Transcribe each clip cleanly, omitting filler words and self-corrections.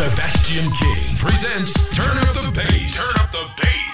Sebastian King presents Turn Up the Bass. Turn Up the Bass.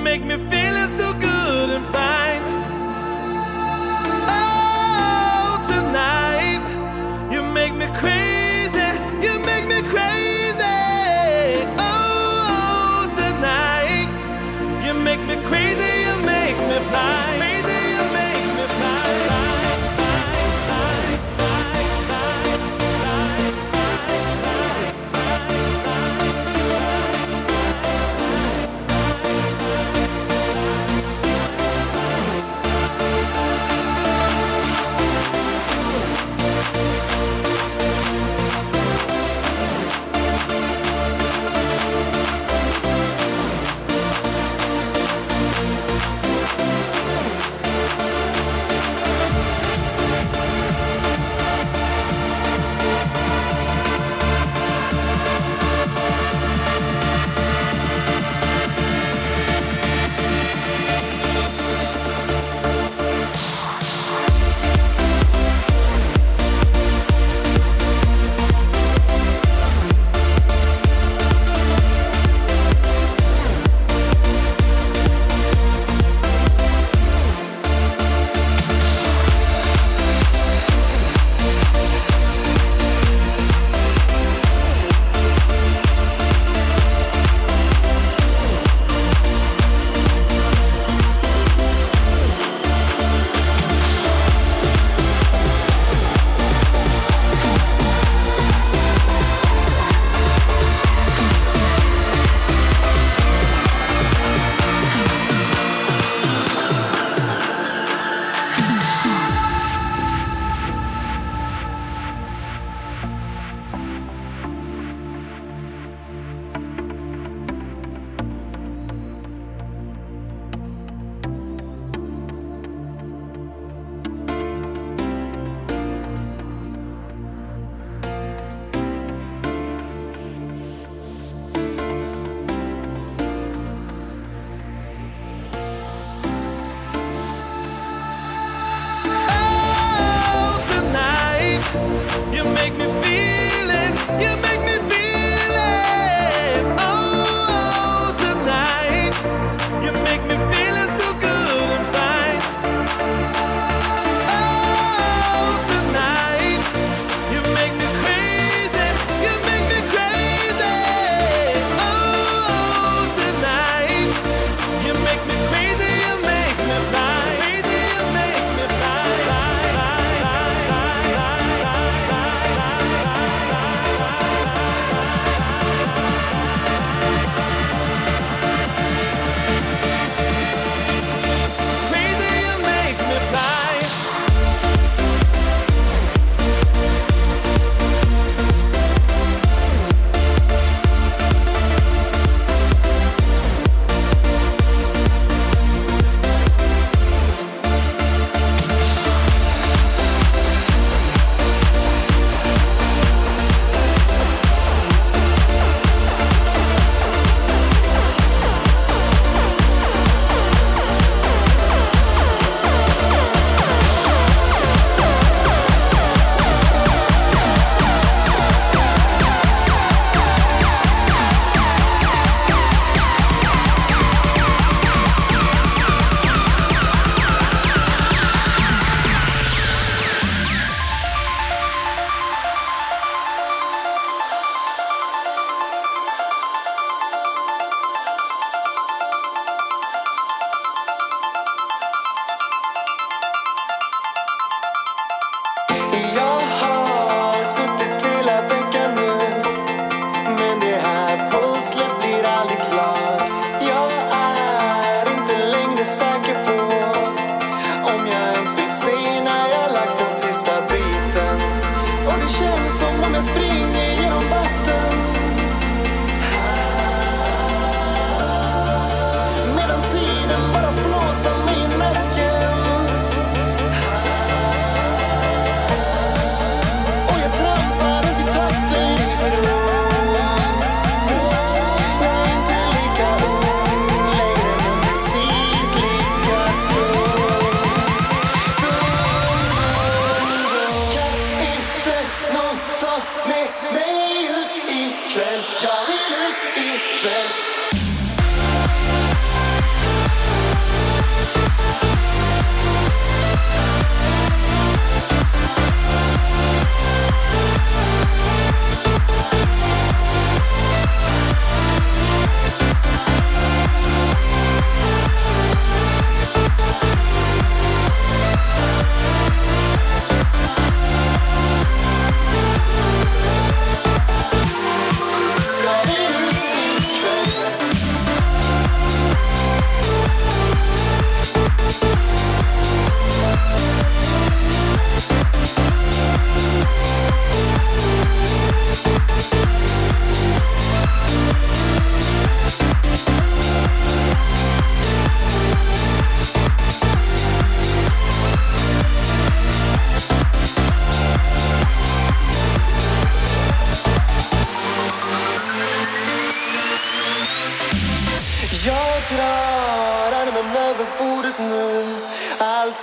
make me feeling so good and fine. Oh, tonight, you make me crazy, you make me crazy. Oh, tonight, you make me crazy, you make me fly. Crazy, you make me fly. You make me feel it, you make me feel it. Oh, tonight, you make me feeling so good and fine. Oh, tonight, you make me crazy, you make me crazy. Oh, tonight, you make me crazy, you make me fly. Crazy, you make me fly. Fly, fly, fly, fly, fly, fly, fly, fly, fly, fly.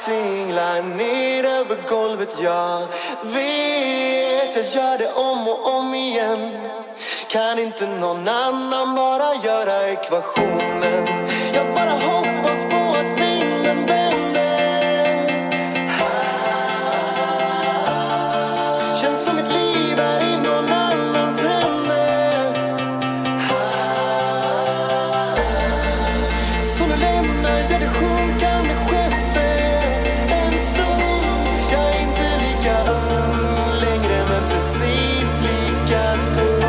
singlar ner över golvet. Jag vet, jag gör det om och om igen. Kan inte någon annan bara göra ekvationen? Jag bara hoppas på att vinden vänder. Känns som mitt liv är i någon annans händer. Så nu lämnar jag det sjunkande skeppet en stund. Jag är inte lika ung längre, men precis lika dum.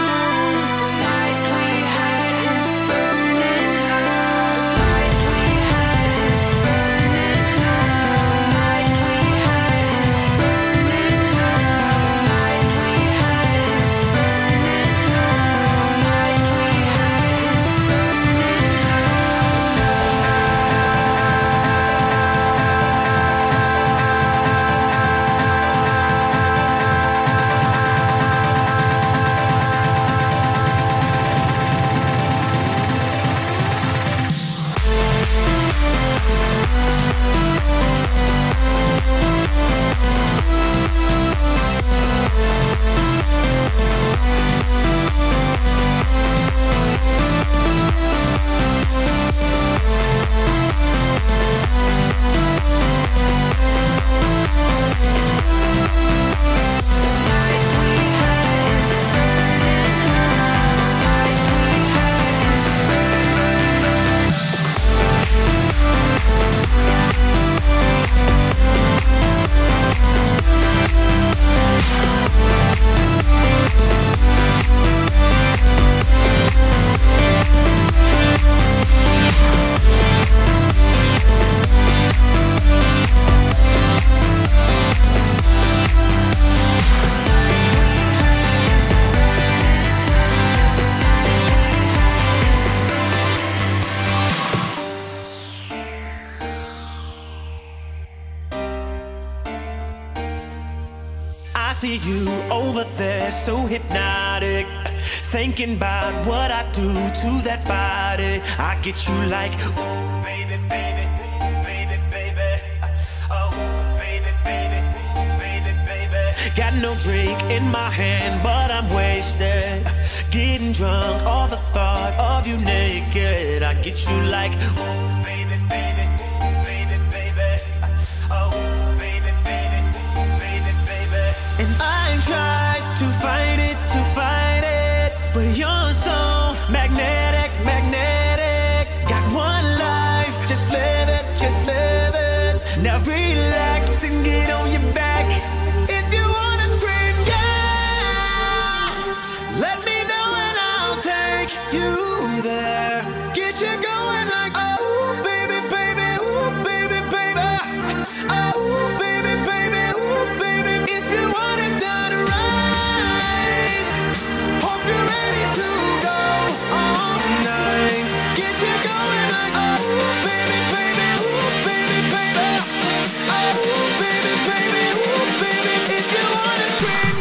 We I see you over there, so hypnotic. Thinking about what I do to that body. I get you like, ooh, baby, baby, ooh, baby, baby. Oh, baby, baby, ooh, baby, baby. Got no drink in my hand, but I'm wasted. Getting drunk, all the thought of you naked. I get you like, ooh, baby, baby, ooh, baby, baby. Oh, baby, baby, ooh, baby, baby. And I tried to fight it, but you're so magnetic, magnetic. Got one life, just live it, just live it. Now relax and get on your back. If you wanna scream, yeah, let me know and I'll take you there. Get you going like, oh, baby, baby, ooh, baby, baby. Oh, baby, baby, ooh, baby. If you want it done right, hope you're ready to go all night. Get you going like, oh, baby, baby, ooh, baby, baby. Oh, baby, baby, ooh, baby. If you wanna scream.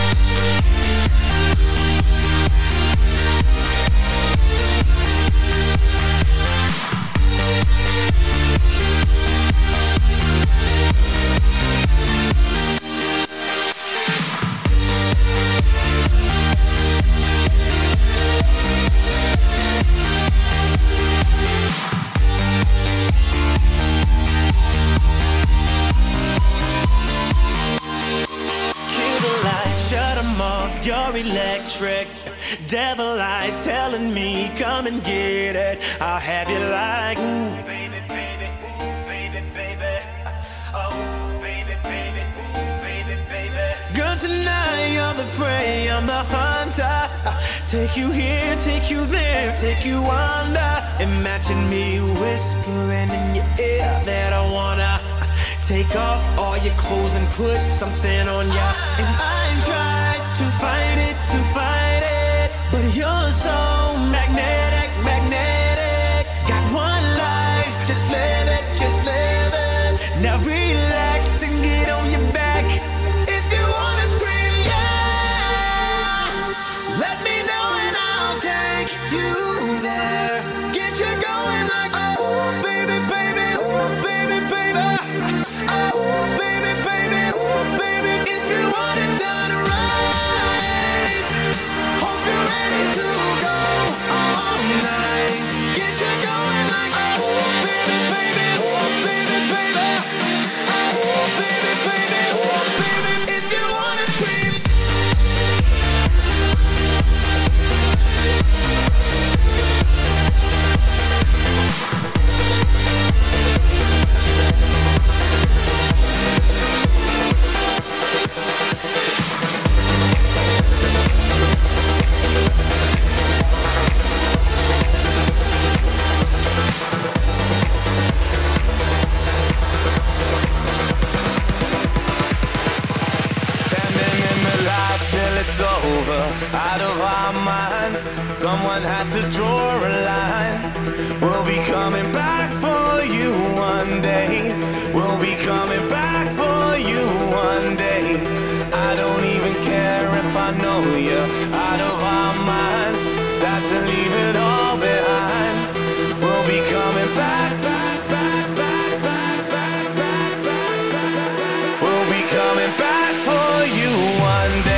You're electric, devil eyes telling me come and get it. I'll have you like, ooh, baby, baby, ooh, baby, baby. Oh, baby, baby, ooh, baby, baby. Girl, tonight you're the prey, I'm the hunter. Take you here, take you there, take you under. Imagine me whispering in your ear that I wanna take off all your clothes and put something on ya. And I tried to fight it, but you're so magnetic, magnetic. Got one life, just live it, just live it. Now relax and get on your back. If you wanna scream, yeah, let me know and I'll take you there. Get you going like, oh, baby, baby, ooh, baby, baby. Oh, baby, baby, ooh, baby. If you want it done right, hope you're ready to go all night. Get you going like, oh, baby, baby, ooh, baby, baby. Oh, baby, baby, ooh, baby. If you wanna scream. It's over, out of our minds. Someone had to draw a line. We'll be coming back for you one day. We'll be coming back for you one day. I don't even care if I know you're out of our minds. Start to leave it all behind. We'll be coming back, back, back, back, back, back, back, back, back. We'll be coming back for you one day.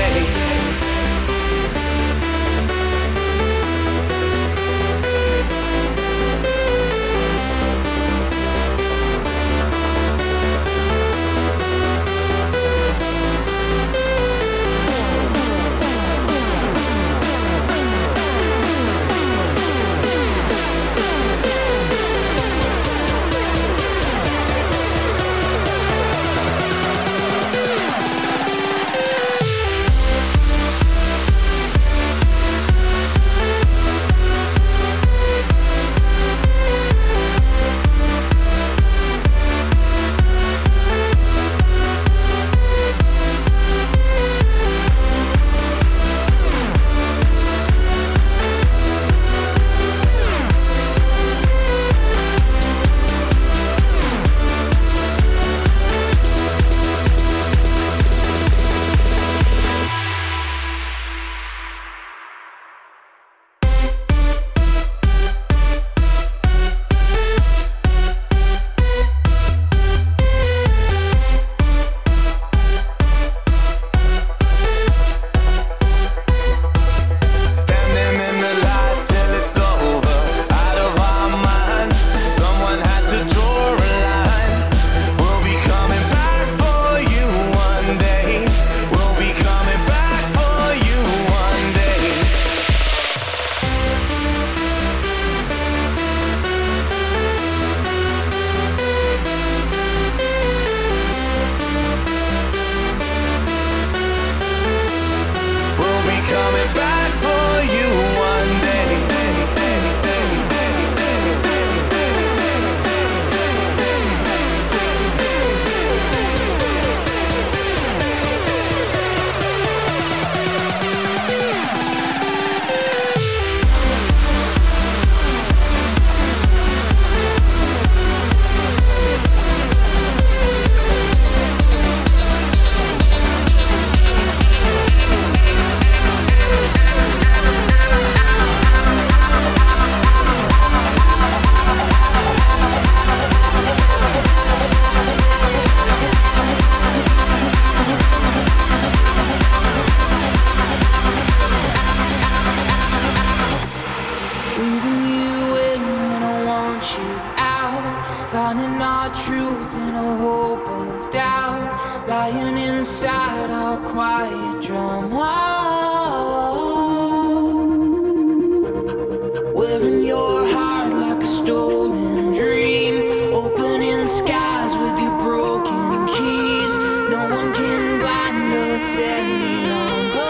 truth in a hope of doubt, lying inside our quiet drama. Wearing your heart like a stolen dream, opening skies with your broken keys. No one can blind us any longer.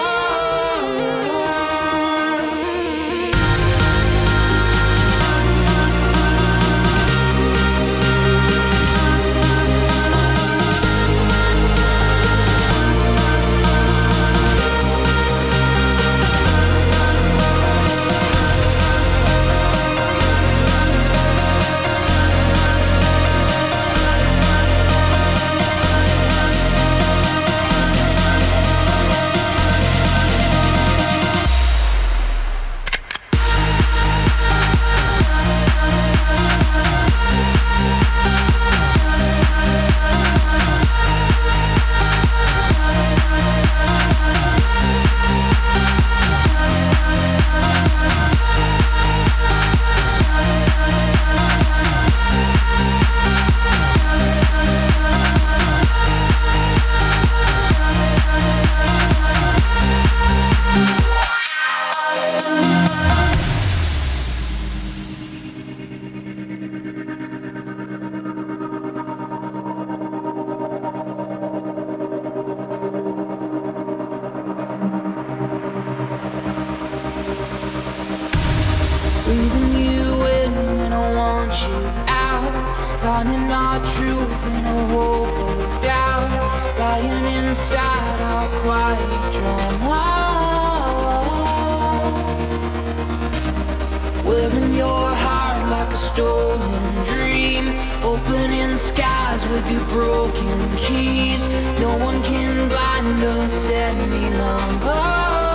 Breathing you in when I want you out, finding our truth in a hope of doubt, lying inside our quiet drama. Wearing your heart like a stolen dream, opening skies with your broken keys. No one can blind us any longer.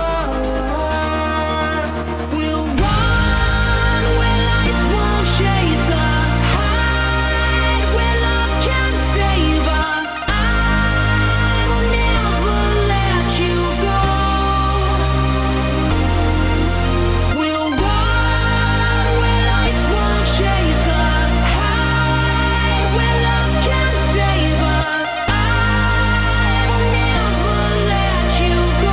Chase us, hide where love can save us. I will never let you go. We'll run where lights won't chase us, hide where love can save us. I will never let you go.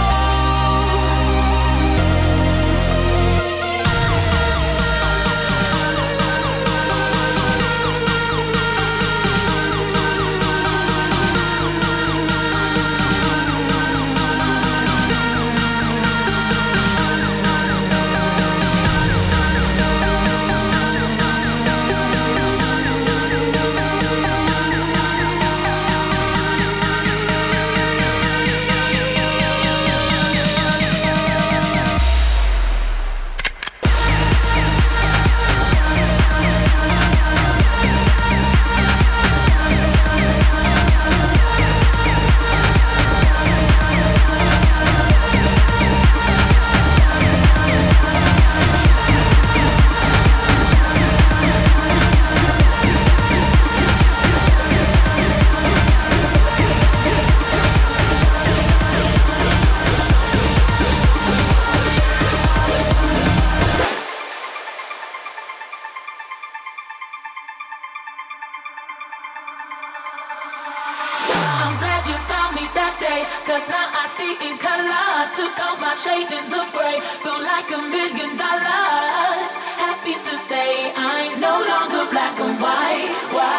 I'm glad you found me that day, 'cause now I see in color. Took off my shadings of gray, feel like $1 million. Happy to say I'm no longer black and white.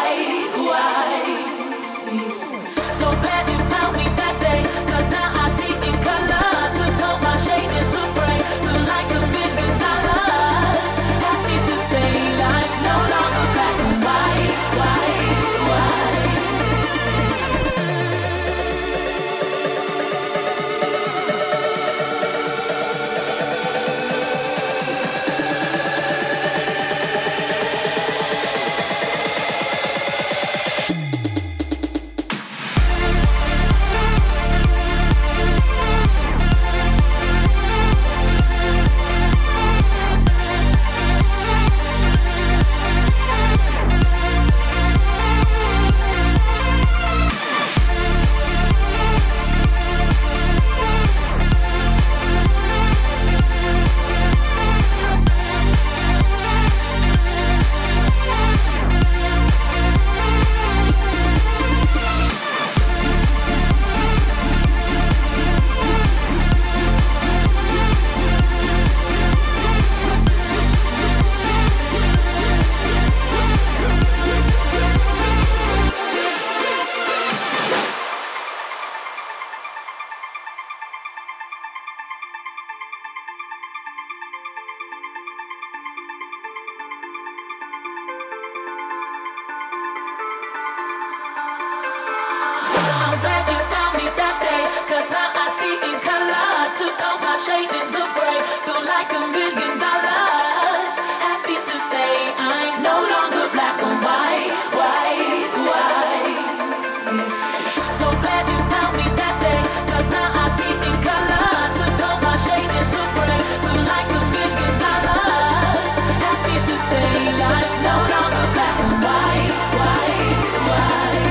So glad you found me that day, 'cause now I see in color. Took off my shadings of gray, feel like $1 million. Happy to say life's no longer black and white. I'm glad you found me that day, 'cause now I see in color. Took off my shadings of gray, feel like $1 million. Happy to say I'm no longer black and white, white, white. So glad you found me that day, 'cause now I see in color. Took off my shadings of gray, feel like $1 million. Happy to say life's no longer black and white, white, white.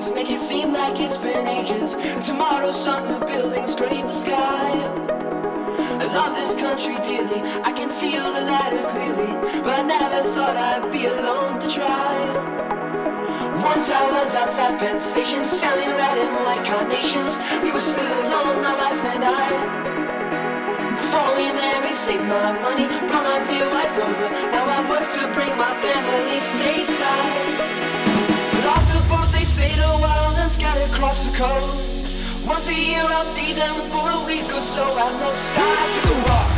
faces make it seem like it's been ages. And tomorrow some new buildings scrape the sky. I love this country dearly, I can feel the ladder clearly, but I never thought I'd be alone to try. Once I was outside Penn Station selling red and white carnations. We were still alone, my wife and I. Before we married, saved my money, brought my dear wife over. Now I work to bring my family stateside. But off the boat they sail a while and scatter across the coast. Once a year I'll see them for a week or so. At most I took a walk.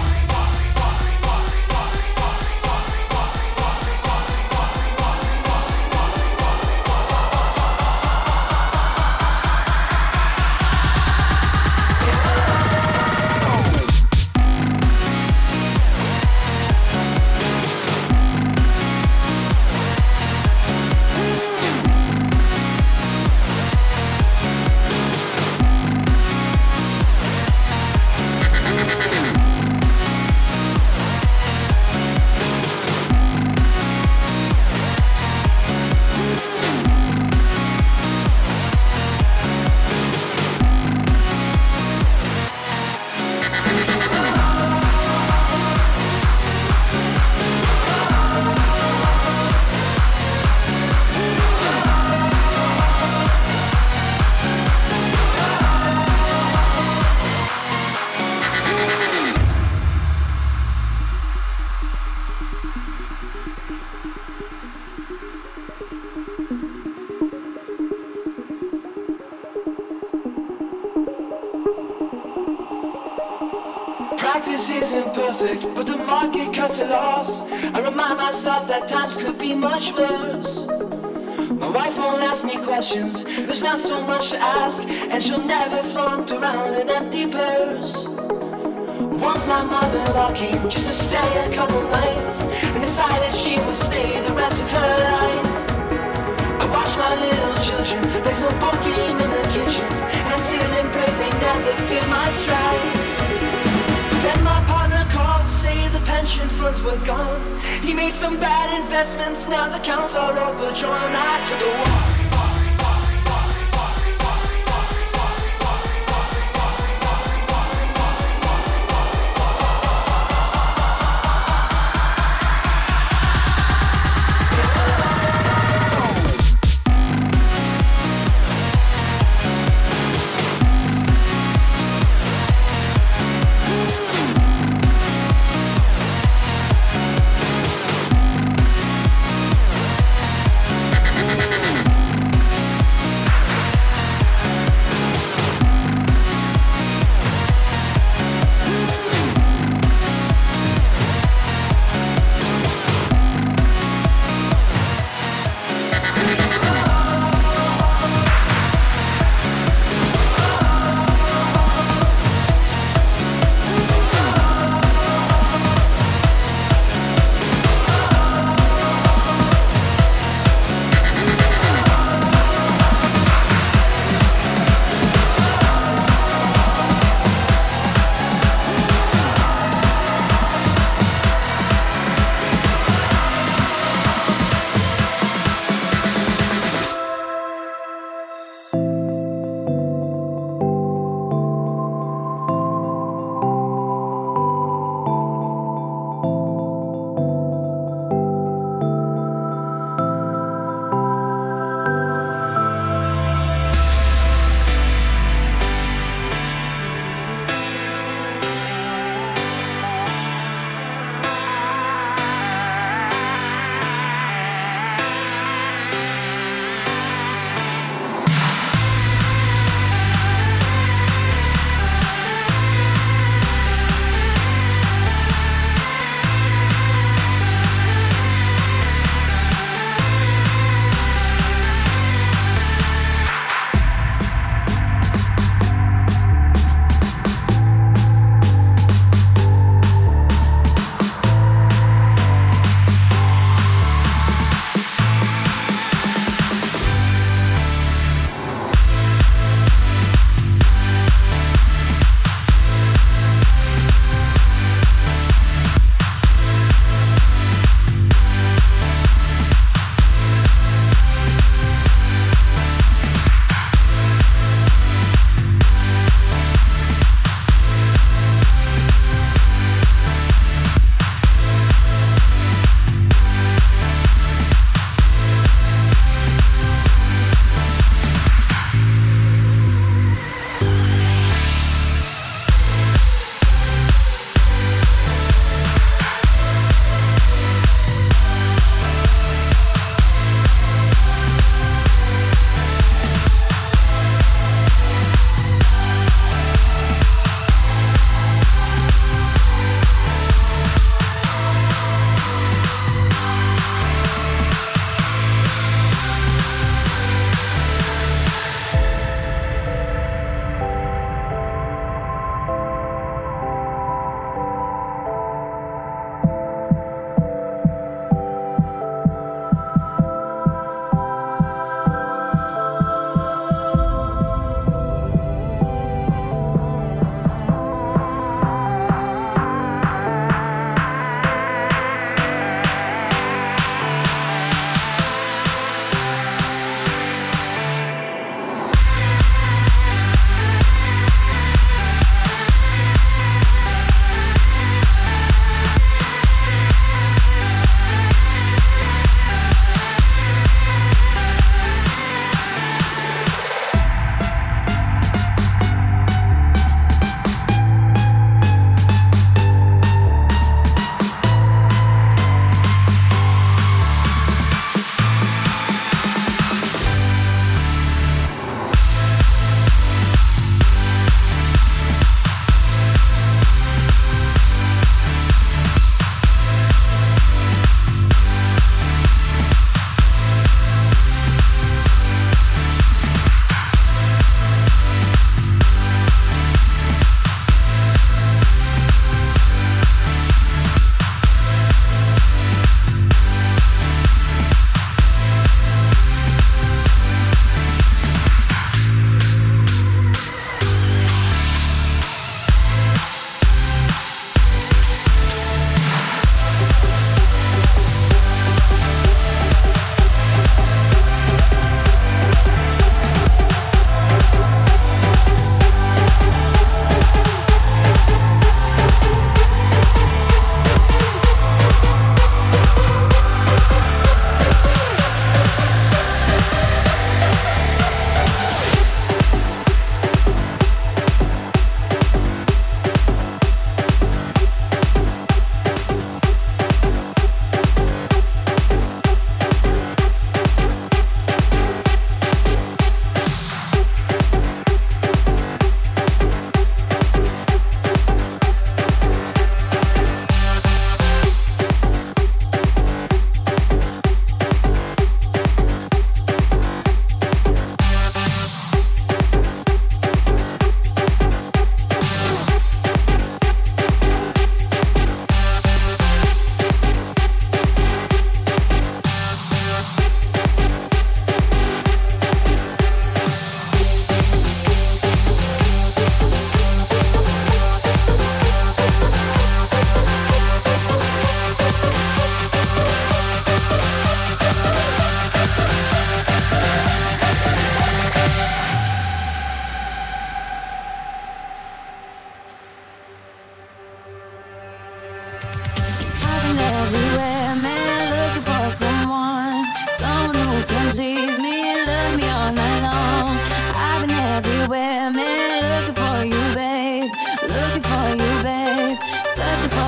Practice isn't perfect, but the market cuts a loss. I remind myself that times could be much worse. My wife won't ask me questions, there's not so much to ask, and she'll never flaunt around an empty purse. Once my mother-in-law came just to stay a couple nights, and decided she would stay the rest of her life. I watch my little children play some board game in the kitchen, and I sit and pray they never feel my strife. Then my partner called to say the pension funds were gone. He made some bad investments, now the accounts are overdrawn. I took a walk.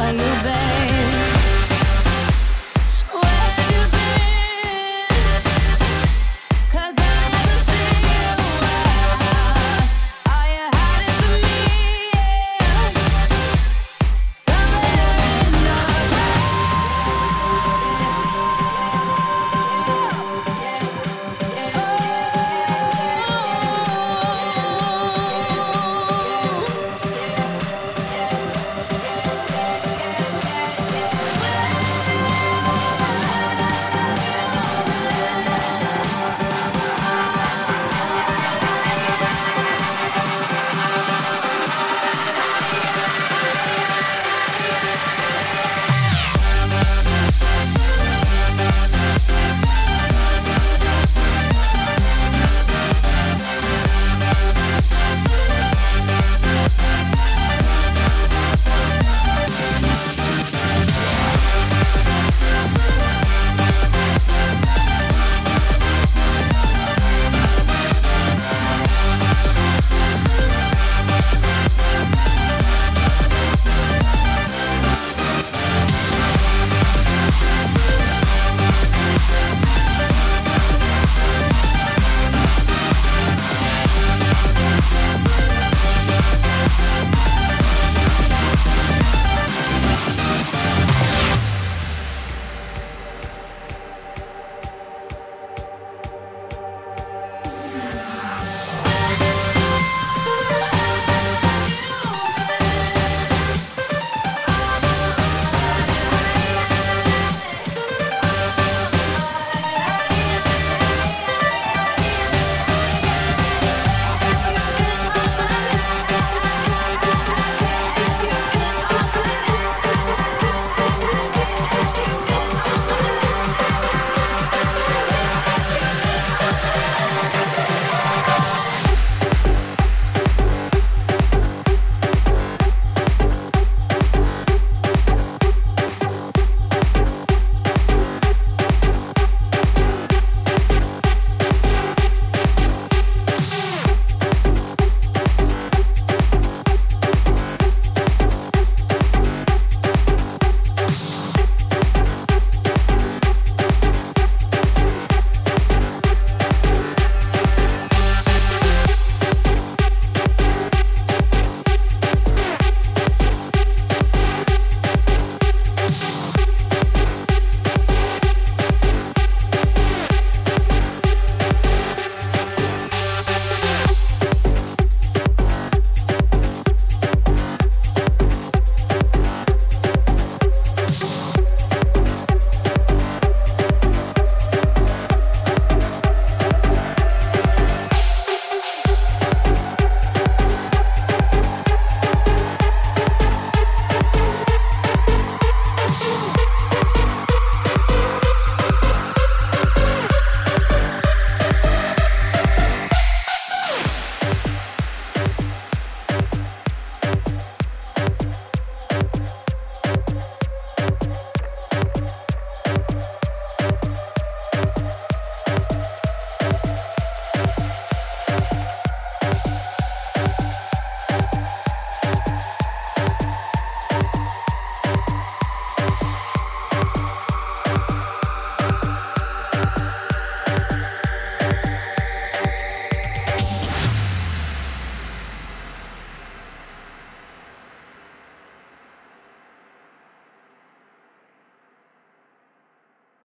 you, babe.